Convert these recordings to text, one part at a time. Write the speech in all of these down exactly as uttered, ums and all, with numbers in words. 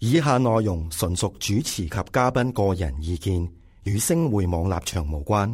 以下內容純屬主持及嘉賓個人意見，與星匯網立場無關。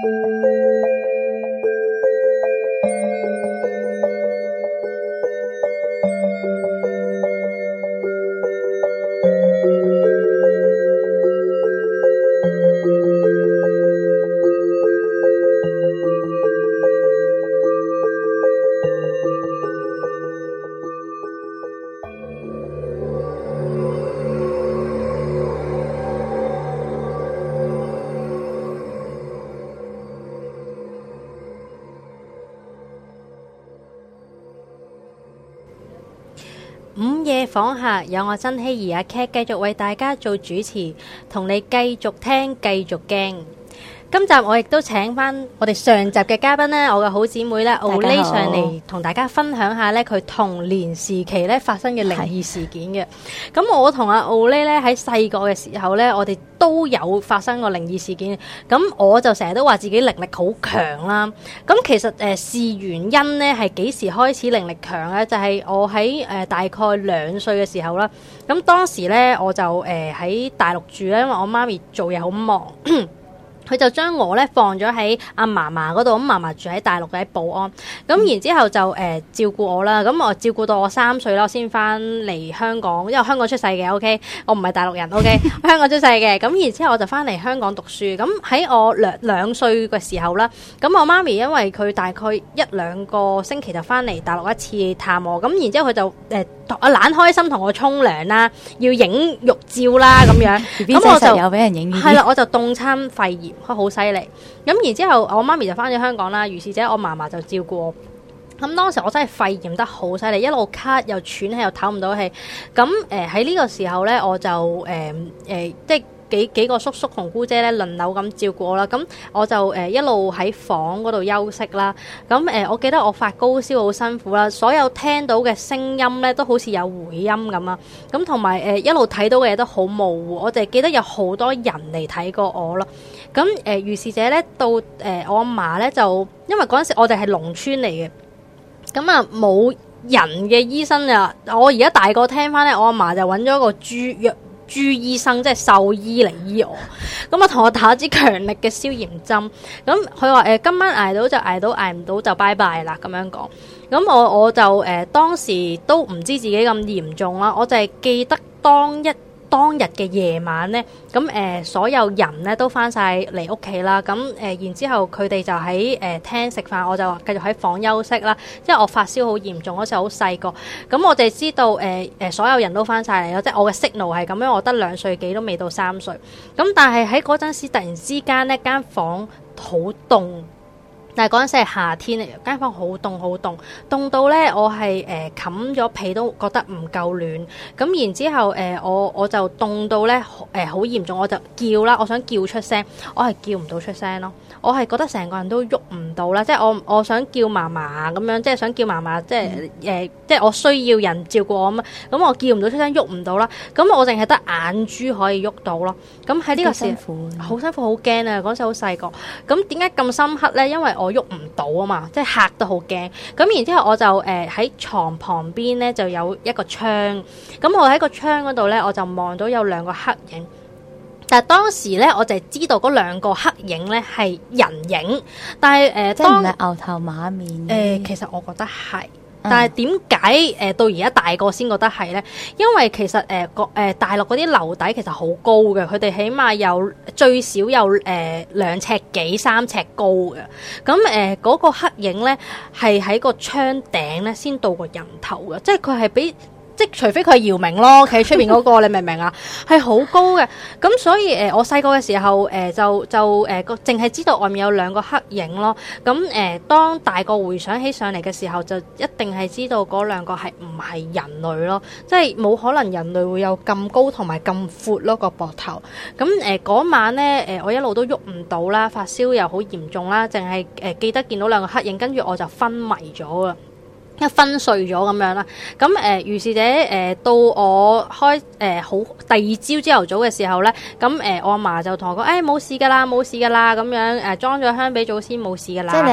午夜訪客有我曾希兒阿 Cat 繼續為大家做主持，同你繼續聽繼續驚。今集我亦都請翻我哋上集嘅嘉賓咧，我嘅好姊妹咧，Olay上嚟同大家分享下咧佢童年時期咧發生嘅靈異事件嘅。咁我同阿 Olay咧喺細個嘅時候咧，我哋都有發生過靈異事件。咁我就成日都話自己靈力好強啦。咁其實誒事、呃、原因咧係幾時開始靈力強咧？就係、是、我喺誒、呃、大概兩歲嘅時候啦。咁當時咧我就誒喺、呃、大陸住咧，因為我媽咪做嘢好忙。佢就將我咧放咗喺阿嫲嫲嗰度，咁嫲嫲住喺大陸喺寶安，咁、嗯、然之後就誒、呃、照顧我啦，咁我照顧到我三歲啦，我先翻嚟香港，因為香港出世嘅 ，OK， 我唔係大陸人 ，OK， 香港出世嘅，咁然之後我就翻嚟香港讀書，咁喺我兩兩歲嘅時候啦，咁我媽咪因為佢大概一兩個星期就翻嚟大陸一次探我，咁然之後佢就誒啊懶開心同我沖涼啦，要影玉照啦咁樣，咁我就有俾人影，係啦，我就凍親肺炎。佢好犀利，咁然之後我媽咪就翻咗香港啦，如是者我嫲嫲就照顧我。咁當時我真係肺炎得好犀利，一路咳又喘氣又唞唔到氣。咁誒喺呢個時候咧，我就誒誒、呃呃、即係幾幾個叔叔同姑姐咧輪流咁照顧我啦。咁我就誒、呃、一路喺房嗰度休息啦。咁誒、呃、我記得我發高燒好辛苦啦，所有聽到嘅聲音咧都好似有回音咁啊。咁同埋誒一路睇到嘅嘢都好模糊，我就記得有好多人嚟睇過我咯。咁誒、呃，如是者咧，到誒、呃、我阿嫲咧就，因為嗰陣時我哋係農村嚟嘅，咁啊冇人嘅醫生啊。我而家大個聽翻咧，我阿嫲就揾咗個豬藥豬醫生，即係獸醫嚟醫我。咁啊，同我打支強力嘅消炎針。咁佢話誒，今晚捱到就捱到，捱唔到就拜拜啦。咁樣講。咁我我就誒、呃、當時都唔知自己咁嚴重啦，我就係記得當一。當日嘅夜晚咧，咁誒、呃、所有人咧都翻晒嚟屋企啦，咁誒、呃、然之後佢哋就喺誒、呃、廳食飯，我就繼續喺房休息啦。因為我發燒好嚴重，嗰時好細個，咁我哋知道誒誒、呃、所有人都翻晒嚟咯，即係我嘅 signal 係咁樣，我得兩歲幾都未到三歲，咁但係喺嗰陣時突然之間呢間房好凍。但係嗰陣時係夏天嚟嘅，間房好凍好凍，凍到咧我係誒冚咗被都覺得唔夠暖。咁然之後誒、呃、我我就凍到咧誒好嚴重，我就叫啦，我想叫出聲，我係叫唔到出聲咯。我係覺得成個人都喐唔到啦，即係我我想叫嫲嫲咁樣，即係想叫嫲嫲，即係誒、呃、即係我需要人照顧我咁，咁我叫唔到出聲，喐唔到啦。咁我淨係得眼珠可以喐到咯。咁喺呢個時候好辛苦，好驚啊！嗰時好細個。咁點解咁深刻咧？因為我喐唔到啊嘛，即係嚇得好驚。咁然之後我就誒喺、呃、床旁邊咧就有一個窗，咁我喺個窗嗰度咧我就望到有兩個黑影。但係當時咧我就知道嗰兩個黑影咧係人影，但係誒、呃、 即係唔係牛頭馬面誒、 呃？其實我覺得係。但係點解誒到而家大個先覺得係咧？因為其實誒個誒大陸嗰啲樓底其實好高嘅，佢哋起碼有最少有誒兩尺幾三尺高嘅。咁誒嗰個黑影咧係喺個窗頂咧先到個人頭嘅，即係佢係比。即除非佢係姚明咯，企喺出邊嗰個，你明唔明啊？係好高嘅，咁所以誒、呃，我細個嘅時候誒、呃，就就誒個淨係知道外面有兩個黑影咯。咁誒、呃，當大個回想起上嚟嘅時候，就一定係知道嗰兩個係唔係人類咯，即係冇可能人類會有咁高同埋咁闊咯個膊頭。咁誒嗰晚咧誒、呃，我一路都喐唔到啦，發燒又好嚴重啦，淨係誒記得見到兩個黑影，跟住我就昏迷咗啊！一昏睡咗咁樣啦，咁誒、呃，如是者誒、呃，到我開誒、呃、好第二朝朝頭早嘅時候咧，咁誒、呃，我阿嫲就同我講，誒、哎、冇事噶啦，冇事噶啦，咁樣誒裝咗香俾祖先冇事噶啦。 即係你係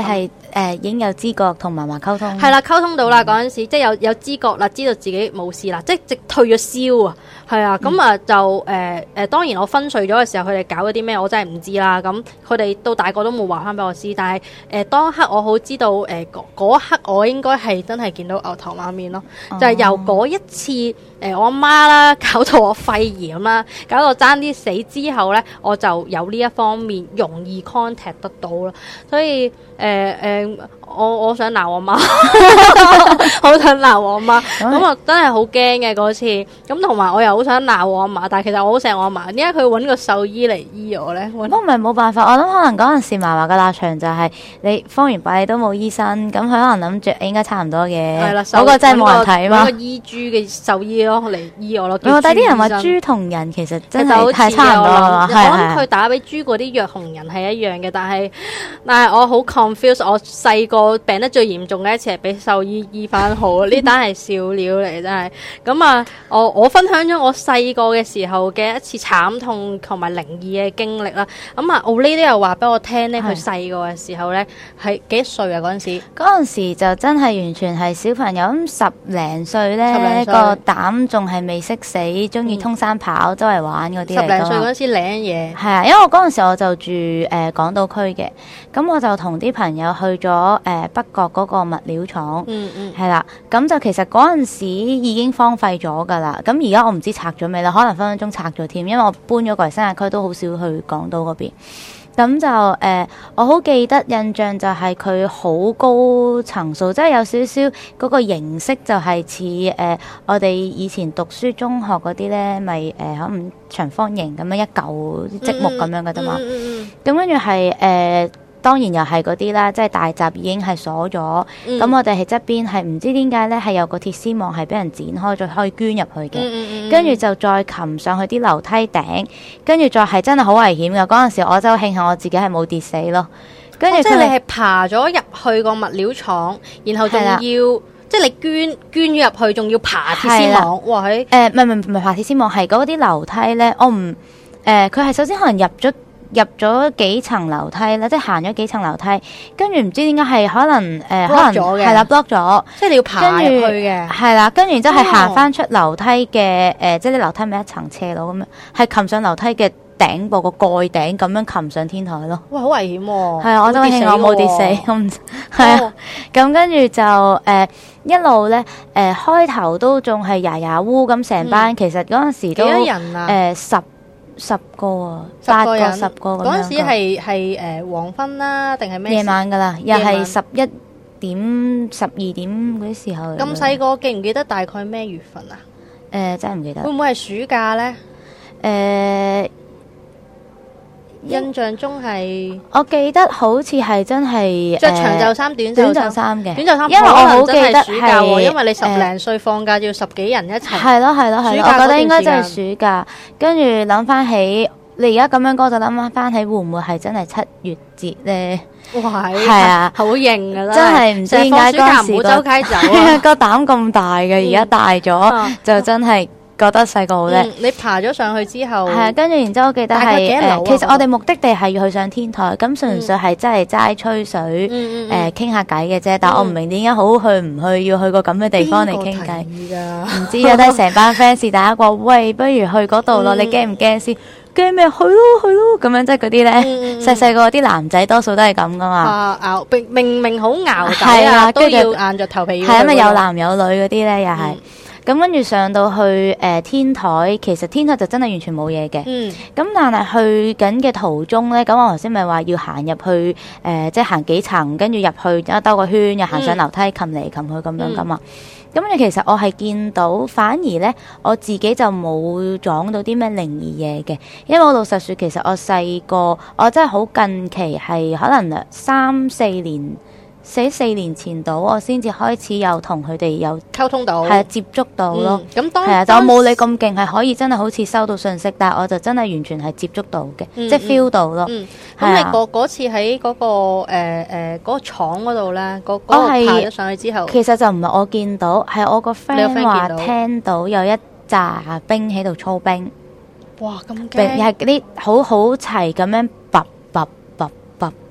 誒已經有知覺同嫲嫲溝通。 係啦，溝通到啦嗰陣時，即係有有知覺啦，知道自己冇事啦，即係直退咗燒啊，係啊，咁啊就誒誒、呃，當然我昏睡咗嘅時候，佢哋搞咗啲咩，我真係唔知啦。咁佢哋到大個都冇話翻俾我知，但係誒、呃、當刻我好知道誒嗰、呃、刻我應該係真係見到牛頭馬面咯，哦、就係由嗰一次誒、呃、我阿媽啦搞到我肺炎啦，搞到爭啲死之後咧，我就有呢一方面容易 contact 得到咯，所以誒誒、呃呃、我我想鬧我媽，好想鬧我媽，咁我真係好驚嘅嗰次，咁同埋我又好想鬧我阿嫲，但係其實我好錫我阿嫲，點解佢揾個獸醫嚟醫我咧？都唔係冇辦法，我諗可能嗰陣時嫲嫲嘅立場就係你方圓百里都冇醫生，咁佢可能諗住應該差唔多嘅， 係啦， 嗰個真係冇人睇嘛， 揾個醫豬嘅獸醫咯嚟醫我咯。 但係啲人話豬同人其實真係太差唔多啦， 我諗佢打俾豬嗰啲藥同人係一樣嘅，但係但係我好 confused，我細個病得最嚴重嘅一次係俾獸醫醫翻好，呢單係笑料嚟真係。咁啊，我我分享咗我細個嘅時候嘅一次慘痛同埋靈異嘅經歷啦。咁啊，奧利都有話俾我聽咧，佢細個嘅時候咧係幾多歲啊？嗰陣時嗰陣時就真係完全係小朋友，咁十零歲咧個膽仲係未識死，中意通山跑、嗯、周圍玩嗰啲嚟㗎嘛。十零歲嗰陣時領嘢係啊，因為我嗰陣時我就住誒、呃、港島區嘅，咁我就同啲朋友去咗誒、呃、北角嗰個物料廠， 嗯嗯， 係啦，咁就其實嗰陣時已經荒廢咗㗎啦。咁而家我唔知拆咗未啦，可能分分鐘拆咗添，因為我搬咗過嚟新界區，都好少去港島嗰邊。咁就誒、呃，我好記得印象就係佢好高層數，即係有少少嗰個形式就係似誒我哋以前讀書中學嗰啲咧，咪誒可能長方形咁樣一嚿積木咁樣嘅啫嘛。咁跟住係誒。當然又係嗰啲啦，即係大閘已經係鎖咗，咁、嗯、我哋係側邊係唔知點解咧，係有個鐵絲網係俾人剪開咗，可以捐入去嘅。跟住、嗯嗯、就再擒上去啲樓梯頂，跟住再係真係好危險㗎。嗰陣時我真係慶幸我自己係冇跌死咯。跟住、哦、即係你係爬咗入去個物料廠，然後仲要的即係你捐捐咗入去，仲要爬鐵絲網。的哇！喺誒唔係唔係唔係爬鐵絲網，係嗰啲樓梯咧，我唔誒佢係首先可能入咗。入咗幾層樓梯啦，即係行咗幾層樓梯，跟住唔知點解係可能誒，呃、可能係啦 block 咗， 即係你要爬入去嘅， 係啦，跟住之後係行翻出樓梯嘅誒、呃，即係啲樓梯咪一層斜路咁樣，係擒上樓梯嘅頂部個蓋頂咁樣擒上天台咯。哇，好危險喎！係啊，我都慶幸我冇跌死，我唔係啊。咁跟住就誒、呃、一路咧誒開頭都仲係牙牙烏咁成班，嗯、其實嗰陣時都幾多人啊？誒、呃、十。十個啊，八個十個咁樣。嗰陣時係係誒黃昏啦，定係咩？夜晚噶啦，又係十一點、十二點嗰啲時候。咁細個記唔記得大概咩月份啊？誒，真係唔記得。會唔會係暑假咧？誒，印象中係，我記得好似係真係着長袖衫、短袖衫嘅。短袖衫，因為我好記得係，因為你十零歲放假要十幾人一齊。係咯係咯係咯，我覺得應該真係暑假。跟住諗翻起，你而家咁樣講就諗翻起，會唔會係真係七月節咧？哇，係啊，好型噶啦，真係唔知點解嗰時唔好周街走啊，個膽咁大嘅，而家大咗就真係。覺得細個好叻，你爬咗上去之後，係啊，跟住然之後我記得係誒，其實我哋目的地係要去上天台，咁純粹係真係齋吹水，誒傾下偈嘅啫。但我唔明點解好去唔去，要去個咁嘅地方嚟傾偈。唔知啊，都係成班 fans 大家話，喂，不如去嗰度咯，你驚唔驚先？驚咩？去咯去咯，咁樣即係嗰啲咧，細細個啲男仔多數都係咁噶嘛。啊，明明明好熬底啊，都要硬着頭皮。係因為有男有女嗰啲咧，又係。咁跟住上到去誒、呃、天台，其實天台就真係完全冇嘢嘅。嗯。咁但係去緊嘅途中咧，咁我頭先咪話要行入去誒、呃，即係行幾層，跟住入去一兜個圈，又行上樓梯，擒嚟擒去咁樣噶嘛。咁跟住其實我係見到，反而咧我自己就冇撞到啲咩靈異嘢嘅，因為我老實説，其實我細個，我真係好近期係可能三四年。四四年前到，我先至開始有同佢哋有溝通到，係啊，接觸到咯。咁、嗯、當係啊，但我冇你咁勁，係可以真係好似收到信息，但係我就真係完全係接觸到嘅，嗯、即係 feel 到咯。咁、嗯嗯、你嗰嗰次喺嗰、嗰個誒誒嗰個廠嗰度咧，嗰、嗰、嗰個爬咗上去之後，其實就唔係我見到，係我個 friend 話聽到有一紮兵喺度操兵。哇！咁驚，係嗰啲好好齊咁樣拔拔拔拔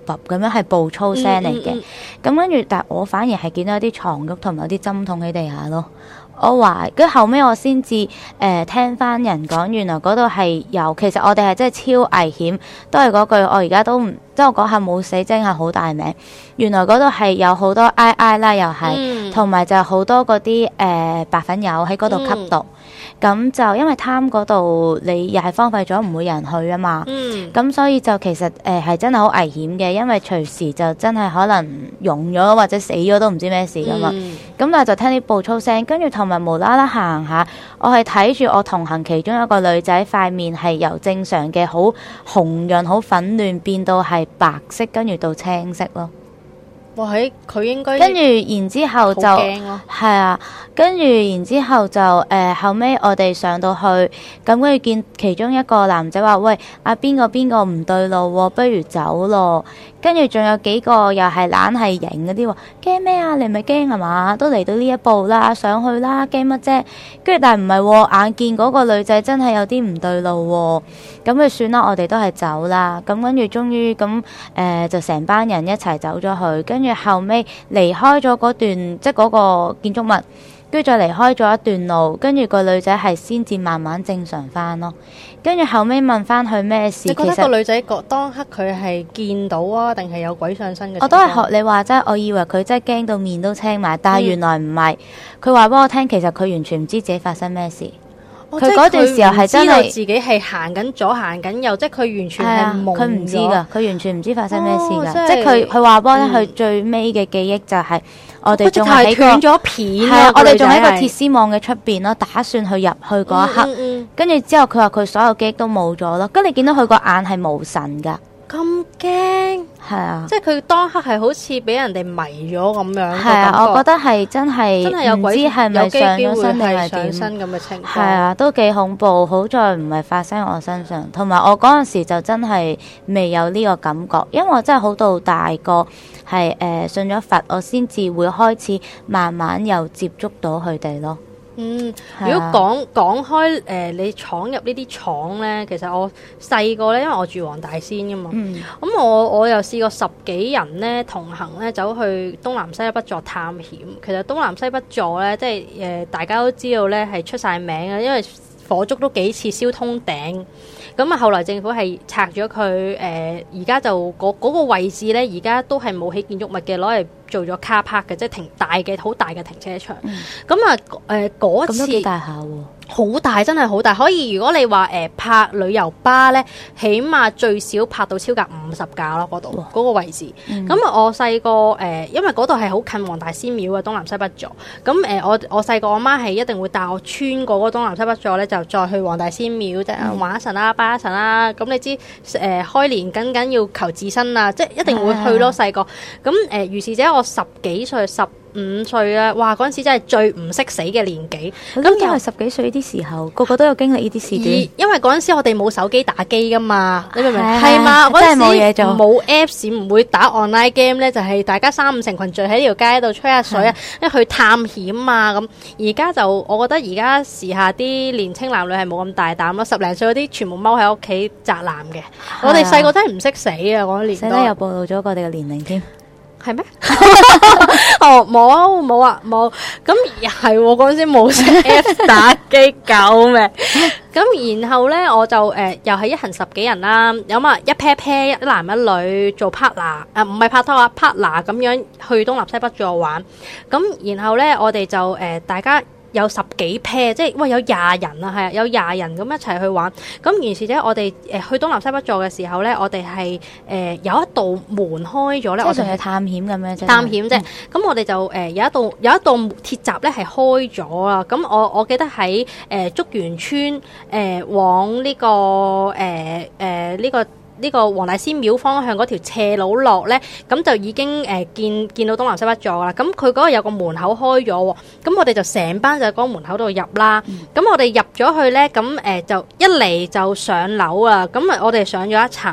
啵咁樣係步操聲嚟嘅。咁、嗯嗯、跟住，但我反而係見到有啲床褥同埋有啲針筒喺地下咯。我話，跟後尾我先至誒聽翻人講，原來嗰度係有，其實我哋係真係超危險，都係嗰句，我而家都唔，即係我講下冇死精係好大名。原來嗰度係有好多 I I 啦，又係，同埋、嗯、就好多嗰啲誒白粉友喺嗰度吸毒。咁、嗯、就因為貪嗰度，你又係荒廢咗，唔會有人去啊嘛。咁、嗯、所以就其實誒係、呃、真係好危險嘅，因為隨時就真係可能溶咗或者死咗都唔知咩事噶嘛。咁、嗯、但係就聽啲步操聲，跟住同埋無啦啦行下，我係睇住我同行其中一個女仔塊面係由正常嘅好紅潤、好粉嫩變到係白色，跟住到青色咯。 哇！喺佢應該跟住然之後就係啊，跟住然之後就誒、呃、後尾我哋上到去，咁跟住見其中一個男仔話：喂，阿邊個邊個唔對路喎，不如走咯。跟住仲有幾個又係懶係型嗰啲喎，驚咩啊？你唔係驚係嘛？都嚟到呢一步啦，上去啦，驚乜啫？跟住但係唔係喎，眼見嗰個女仔真係有啲唔對路喎，咁咪算啦，我哋都係走啦。咁跟住終於咁誒、呃、就成班人一齊走咗去，跟住後尾離開咗嗰段即係嗰個建築物，跟住再離開咗一段路，跟住個女仔係先至慢慢正常翻咯。跟住後尾問翻佢咩事， 你覺得個女仔覺當刻佢係見到啊，定係有鬼上身嘅？ 我都係學你話齋，我以為佢真係驚到面都青埋，但係原來唔係。佢話俾我聽，其實佢完全唔知自己發生咩事。佢嗰、哦、段時候係真係自己係行緊左行緊右，即係佢完全係懵咗。 佢唔知㗎，佢完全唔知發生咩事㗎。 哦、 即係佢佢話俾我聽，佢最尾嘅記憶就係我哋仲喺斷咗片。係啊，我哋仲喺個鐵絲網嘅出邊咯，打算去入去嗰一刻。跟住、嗯嗯嗯、之後佢話佢所有記憶都冇咗咯。跟住你見到佢個眼係無神㗎。 咁驚係啊！ 即係佢當刻係好似俾人哋迷咗咁樣。 係啊，我覺得係真係真係有鬼， 唔知係咪上咗身定係上身咁嘅情況。 係啊，都幾恐怖。好在唔係發生喺我身上，同埋我嗰陣時就真係未有呢個感覺，因為我真係好到大個係誒信咗佛，我先至會開始慢慢又接觸到佢哋咯。 嗯，如果講講開誒、呃，你闖入呢啲廠咧，其實我細個咧，因為我住黃大仙噶嘛，咁、嗯嗯、我我又試過十幾人咧同行咧走去東南西北座探險。其實東南西北座咧，即係誒、呃、大家都知道咧係出晒名嘅，因為火燭都幾次燒通頂。咁啊，後來政府係拆咗佢，誒而家就嗰嗰、嗰個位置咧，而家都係冇起建築物嘅，攞嚟做咗 car park 嘅，即係停大嘅好大嘅停車場。咁啊、嗯，誒嗰、呃、次咁都幾大下喎。好大，真係好大，可以如果你話誒、呃、拍旅遊巴咧，起碼最少拍到超過五十架咯，嗰度嗰個位置。咁、嗯、我細個誒，因為嗰度係好近黃大仙廟嘅東南西北座。咁誒、呃，我我細個我媽係一定會帶我穿過嗰東南西北座咧，就再去黃大仙廟即係玩一陣啦，拜一陣啦。咁你知誒、呃、開年緊緊要求自身啊，即係一定會去咯。細個咁誒，如是者我十幾歲十五歲啊，哇！嗰陣時真係最唔識死嘅年紀。咁因為十幾歲呢啲時候，個個都有經歷呢啲事件。 因為嗰陣時我哋冇手機打機噶嘛，你明唔明？係嘛，嗰陣時冇嘢做，冇 Apps，唔會打 online game 咧，就係大家三五成群聚喺條街度吹下水啊，一去探險啊咁。而家就我覺得而家時下啲年青男女係冇咁大膽咯，十零歲嗰啲全部踎喺屋企宅男嘅。我哋細個真係唔識死啊！嗰年代又暴露咗我哋嘅年齡添。 係咩？哦，冇啊，冇啊，冇。咁係嗰陣時冇識 F 打機，救命！咁然後咧，我就誒、呃、又係一行十幾人啦，有嘛一 pair pair 一男一女做 partner，誒唔係拍拖啊 partner 咁樣去東南西北座玩。咁然後咧，我哋就誒、呃、大家。有十幾 pair，即係喂有廿人啊，係啊，有廿人咁一齊去玩。咁於是者我哋誒去東南西北座嘅時候咧，我哋係誒有一道門開咗咧，我哋係探險咁樣啫。 探險啫。咁、嗯、我哋就誒、呃、有一道有一道鐵閘咧係開咗啦。咁我我記得喺誒、呃、竹園村誒、呃、往呢、這個誒誒呢個。呢個黃大仙廟方向嗰條斜路落咧，咁就已經誒、呃、見見到東南西北座啦。咁佢嗰個有個門口開咗喎，咁我哋就成班就喺嗰個門口度入啦。咁、嗯、我哋入咗去咧，咁誒、呃、就一嚟就上樓啊。咁啊，我哋上咗一層。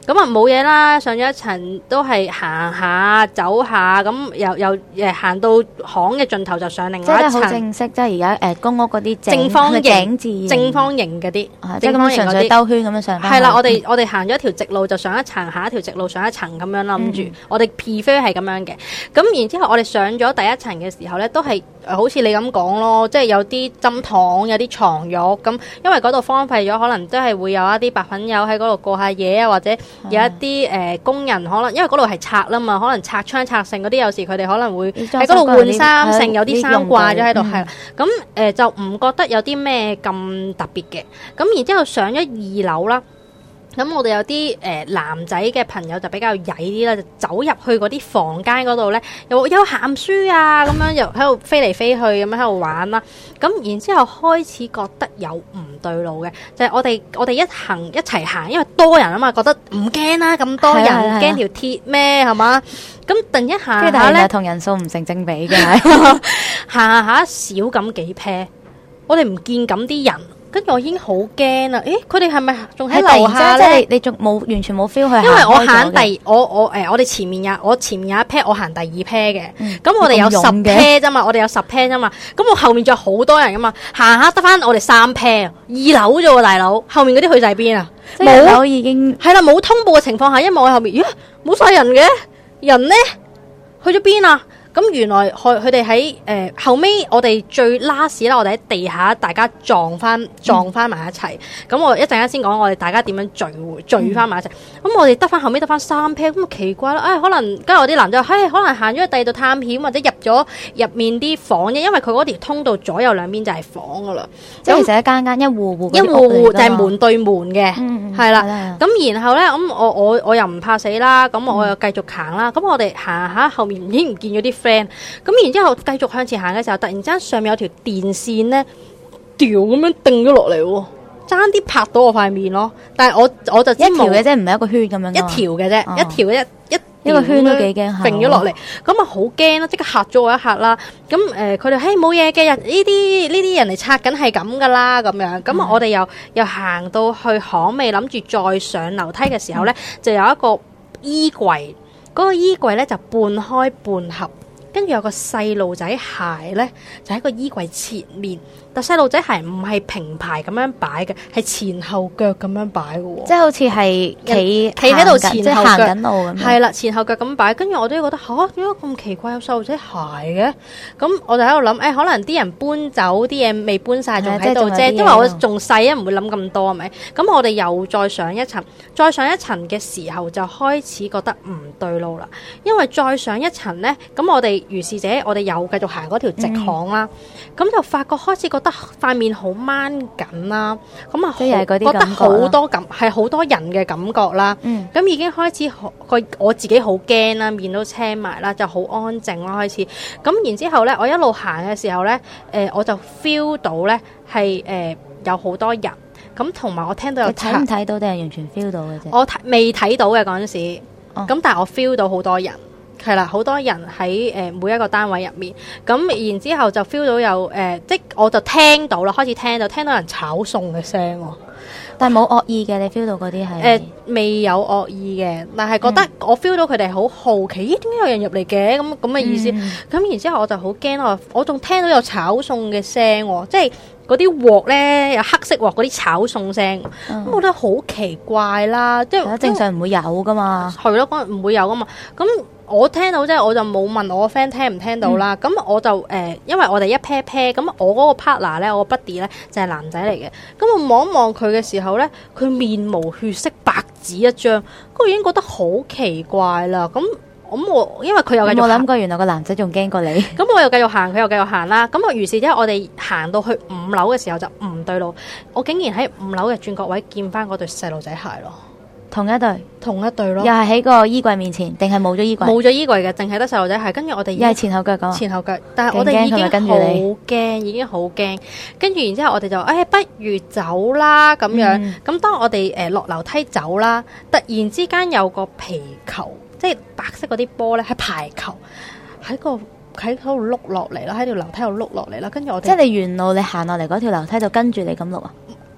咁啊冇嘢啦，上咗一層都係行下走下，咁又又誒行到巷嘅盡頭就上另外一層。 即係好正式，即係而家誒公屋嗰啲正方形字正方形嗰啲， 即係咁樣純粹兜圈咁樣上翻。 係啦，我哋我哋行咗一條直路就上一層，下一條直路上一層咁樣諗住，嗯、我哋 prefer 係咁樣嘅。咁然之後我哋上咗第一層嘅時候咧，都係好似你咁講咯，即係有啲針筒，有啲床褥咁，因為嗰度荒廢咗，可能都係會有一啲白粉友喺嗰度過下嘢啊，或者有一啲誒、呃、工人可能因為嗰度係拆啦嘛，可能拆窗拆剩嗰啲，有時佢哋可能會喺嗰度換衫，剩有啲衫掛咗喺度，係啦，咁誒、呃、就唔覺得有啲咩咁特別嘅。咁然之後上咗二樓啦。咁我哋有啲誒、呃、男仔嘅朋友就比較曳啲啦，就走入去嗰啲房間嗰度咧，又有鹹書啊，咁樣又喺度飛嚟飛去咁樣喺度玩啦。咁然之後開始覺得有唔對路嘅，就係、是、我哋我哋一行一齊行，因為多人啊嘛，覺得唔驚啦，咁多人驚條鐵咩係嘛？咁突然一下下咧， 同人數唔成正比嘅， 行下少咁幾 pair，我哋唔見咁啲人。跟住我已經好驚啦！誒，佢哋係咪仲喺樓下咧？ 即係你仲冇完全冇 feel 去行開咗嘅。 因為我行第我我誒，我哋前面有我前面有一 pair，我行第二 pair 嘅。咁、嗯、我哋有十 pair 啫嘛，我哋有十 pair 啫嘛。咁我後面仲有好多人噶嘛，行下得翻我哋三 pair，二樓啫喎，大佬。後面嗰啲去晒邊啊？ 冇樓已經係啦，冇通報嘅情況下，因為我喺後面，咦，冇晒人嘅，人咧去咗邊啊？咁原來佢佢哋喺誒後尾，我哋最 last 啦，我哋喺地下大家撞翻撞翻埋一齊。咁、嗯、我一陣間先講我哋大家點樣聚會聚翻埋一齊。咁、嗯、我哋得翻後尾得翻三 pair，咁奇怪啦！誒、哎、可能跟住我啲男仔，嘿、哎、可能行咗去第二度探險，或者入咗入面啲房啫，因為佢嗰條通道左右兩邊就係房噶啦。 即係其實一間間一戶戶一戶戶就係門對門嘅，係啦。咁然後咧，咁我我我又唔怕死啦，咁我又繼續行啦。咁、嗯、我哋行下後面已經唔見咗啲 friend。咁然之後繼續向前行嘅時候，突然之間上面有條電線咧，掉咁樣掟咗落嚟，爭啲拍到我塊面咯。但係我我就知一條嘅啫，唔係一個圈咁樣。 一條嘅啫，一條嘅一一一個圈都幾驚， 揈咗落嚟，咁啊好驚啦！即刻嚇咗我一嚇啦。咁誒，佢哋嘿冇嘢嘅人，呢啲呢啲人嚟拆緊係咁噶啦，咁樣。咁我哋又又行到去巷尾，諗住再上樓梯嘅時候咧，嗯、就有一個衣櫃，嗰、嗰個衣櫃咧就半開半合。跟住有個細路仔鞋咧，就喺個衣櫃前面。但細路仔鞋唔係平排咁樣擺嘅，係前後腳咁樣擺嘅。即係好似係企企喺度前後腳行緊路咁。 係啦，前後腳咁擺。跟住我都覺得吓，點解咁奇怪有細路仔鞋嘅？咁我就喺度諗，誒、哎，可能啲人搬走啲嘢未搬晒，仲喺度啫。因為我仲細啊，唔會諗咁多係咪？咁我哋又再上一層，再上一層嘅時候就開始覺得唔對路啦。因為再上一層咧，咁我哋如是者，我哋又繼續行嗰條直巷啦。咁、嗯、就發覺開始覺得塊面好掹緊啦，咁啊覺得好多感係好多人嘅感覺啦。咁、嗯、已經開始個我自己好驚啦，面都青埋啦，就好安靜啦開始。咁然之後咧，我一路行嘅時候咧，誒、呃、我就 feel 到咧係誒有好多人，咁同埋我聽到有睇唔睇到定係完全 feel 到嘅啫？ 我未睇到嘅嗰陣時，咁、哦、但係我 feel 到好多人。係啦，好多人喺誒、呃、每一個單位入面，咁然之後就 feel 到有誒、呃，即我就聽到啦，開始聽到聽到人炒餸嘅聲喎， 但係冇惡意嘅，你 feel 到嗰啲係誒未有惡意嘅，但係覺得我 feel 到佢哋好好奇，咦點解有人入嚟嘅咁咁嘅意思？咁、嗯、然之後我就好驚我，我仲聽到有炒餸嘅聲喎，即係嗰啲鑊咧有黑色鑊嗰啲炒餸聲，咁、嗯、我覺得好奇怪啦，即係正常唔會有噶嘛， 係咯，嗰唔會有噶嘛，咁。我聽到即係我就冇問我個 friend 聽唔聽到啦，咁、嗯、我就誒、呃，因為我哋一 pair pair，咁我嗰個 partner 咧，我個 buddy 咧就係、是、男仔嚟嘅，咁我望一望佢嘅時候咧，佢面無血色，白紙一張，咁我已經覺得好奇怪啦。咁咁我因為佢又繼續， 我諗過原來個男仔仲驚過你， 咁我又繼續行，佢又繼續行啦。咁我於是之後我哋行到去五樓嘅時候就唔對路，我竟然喺五樓嘅轉角位見翻嗰對細路仔鞋咯。 同一對， 同一對咯， 又係喺個衣櫃面前，定係冇咗衣櫃？ 冇咗衣櫃嘅，淨係得細路仔鞋。跟住我哋， 又係前後腳咁。前後腳， 但係我哋已經好驚，已經好驚。跟住然之後我哋就，誒、哎，不如走啦咁樣。咁、嗯、當我哋誒落樓梯走啦，突然之間有個皮球，即係白色嗰啲波咧，係排球喺個喺度碌落嚟啦，喺條樓梯度碌落嚟啦。跟住我哋， 即係你沿路你行落嚟嗰條樓梯就跟住你咁碌啊？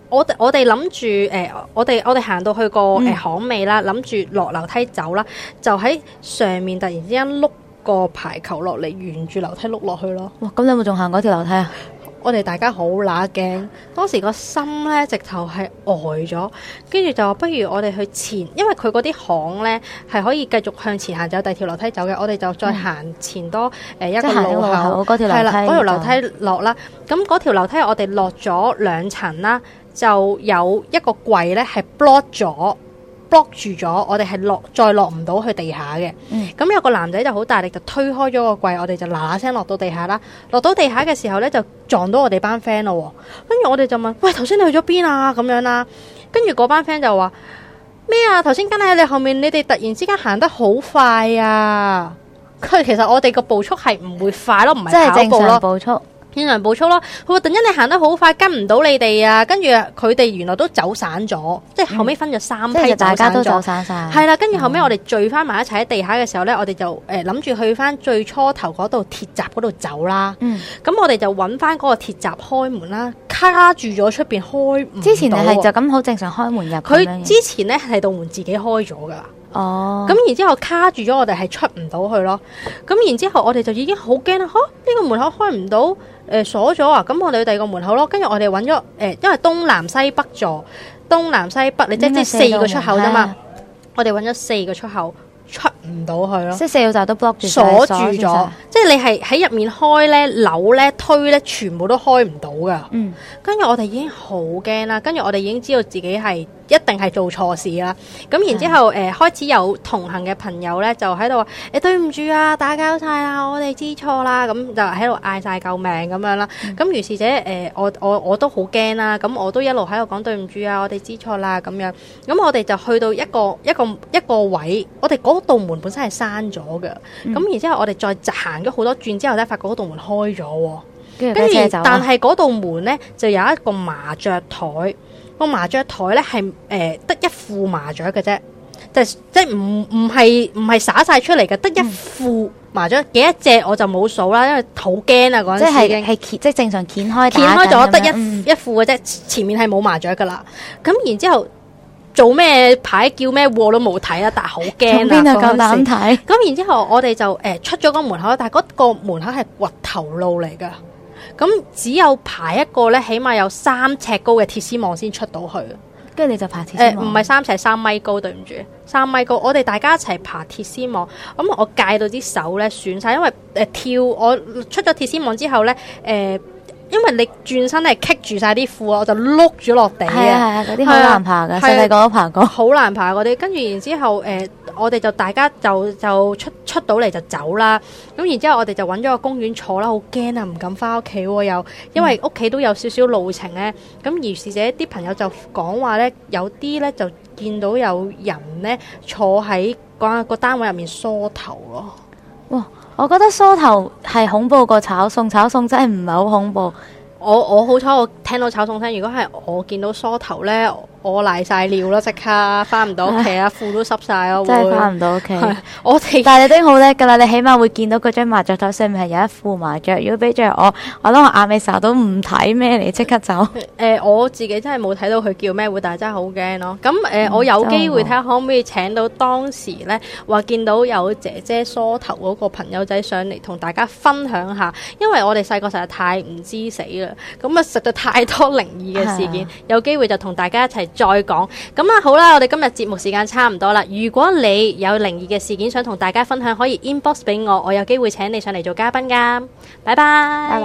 我我哋諗住誒，我哋我哋行到去個誒巷尾啦，諗住落樓梯走啦，就喺上面突然之間碌個排球落嚟，沿住樓梯碌落去咯。 哇！咁你有冇仲行嗰條樓梯啊？ 我哋大家好乸驚，當時個心咧直頭係呆咗，跟住就話不如我哋去前，因為佢嗰啲巷咧係可以繼續向前行，就有第二條樓梯走嘅，我哋就再行前多誒、嗯、一個路口， 嗰條樓梯，係啦，嗰條樓梯落啦。咁嗰條樓梯我哋落咗兩層啦，就有一個櫃咧係 block 咗。block 住咗，我哋係落再落唔到去地下嘅。咁、嗯、有個男仔就好大力就推開咗個櫃，我哋就嗱嗱聲落到地下啦。落到地下嘅時候咧，就撞到我哋班 friend 咯。跟住我哋就問：喂，頭先你去咗邊啊？咁樣啦。跟住嗰班 friend 就話咩啊？頭先跟喺你後面，你哋突然之間行得好快啊！佢其實我哋個步速係唔會快咯，唔係跑步咯，步速。正常步速咯，佢話突然間你行得好快，跟唔到你哋啊！跟住佢哋原來都走散咗，即係後尾分咗三批、嗯，大家都走散晒。係啦，跟住後尾我哋聚翻埋一齊喺地下嘅時候咧，我哋就誒諗住去翻最初頭嗰度鐵閘嗰度走啦。嗯，咁我哋就揾翻嗰個鐵閘開門啦，卡住咗出邊開唔到。之前你係就咁好正常開門入。佢之前咧係道門自己開咗噶啦。哦，咁然之後卡住咗，我哋係出唔到去咯。咁然之後我哋就已經好驚啦，吓、啊、呢、這個門口開唔到，誒、呃、鎖咗啊！咁我哋去第二個門口咯。跟住我哋揾咗誒，因為東南西北座，東南西北，你即係四個出口啫嘛。我哋揾咗四個出口，出唔到去咯。即係四個閘都 block 住，鎖住咗。即係你係喺入面開咧、扭咧、推咧，全部都開唔到噶。嗯，跟住我哋已經好驚啦，跟住我哋已經知道自己係一定係做錯事啦。咁然之後誒、呃、開始有同行嘅朋友咧，就喺度話誒對唔住啊，打攪晒啦，我哋知錯啦。咁就喺度嗌晒救命咁樣啦。咁、嗯、於是者誒、呃、我我我都好驚啦。咁我都一路喺度講對唔住啊，我哋知錯啦咁樣。咁我哋就去到一個一個一個位，我哋嗰道門本身係閂咗嘅。咁、嗯、然之後我哋再行咗好多轉之後咧，發覺嗰道門開咗。跟住但係嗰道門咧就有一個麻雀台。個麻雀台咧係誒得一副麻雀嘅啫，就即係唔唔係唔係灑晒出嚟嘅，得一副麻雀，幾多隻我就冇數啦，因為好驚啊嗰陣時。即係係即係正常掀開掀開咗得一、嗯、一副嘅啫，前面係冇麻雀噶啦。咁然之後做咩牌叫咩禍都冇睇啦，但係好驚啊！邊度夠膽睇？咁然之後我哋就誒、呃、出咗個門口，但係嗰個門口係掘頭路嚟噶。咁只有爬一個咧，起碼有三尺高嘅鐵絲網先出到去。跟住你就爬鐵絲網？誒，唔係三尺，三米高，對唔住，三米高。我哋大家一齊爬鐵絲網。咁我戒到啲手咧損晒，因為誒、呃、跳我出咗鐵絲網之後咧，誒、呃。因為你轉身係棘住晒啲褲，我就碌咗落地嘅。係啊，嗰啲好難爬嘅，細細個都爬過。好難爬嗰啲，跟住然之後，誒、呃，我哋就大家就就出出到嚟就走啦。咁然之後，我哋就揾咗個公園坐啦，好驚啊，唔敢翻屋企喎，又因為屋企都有少少路程咧。咁而是者啲朋友就講話咧，有啲咧就見到有人咧坐喺個個單位入面梳頭咯。哇！我覺得梳頭係恐怖過炒餸，炒餸真係唔係好恐怖。我我好彩，我聽到炒餸聲。如果係我見到梳頭咧，我瀨晒尿啦，即刻翻唔到屋企啊，褲都濕晒咯，真係翻唔到屋企。我哋但係你都好叻噶啦，你起碼會見到嗰張麻雀台上面係有一副麻雀。如果俾着我，我諗我眼尾睄到唔睇咩嚟，即刻走。誒、呃，我自己真係冇睇到佢叫咩會，但係真係好驚咯。咁誒、呃嗯，我有機會睇下可唔可以請到當時咧話見到有姐姐梳頭嗰個朋友仔上嚟同大家分享下，因為我哋細個實在太唔知死啦。咁啊，實在太多靈異嘅事件，有機會就同大家一齊再講。咁啊，好啦，我哋今日節目時間差唔多啦。如果你有靈異嘅事件想同大家分享，可以 inbox 俾我，我有機會請你上嚟做嘉賓噶。拜拜，拜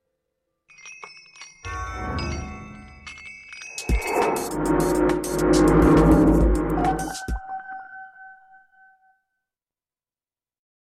拜。you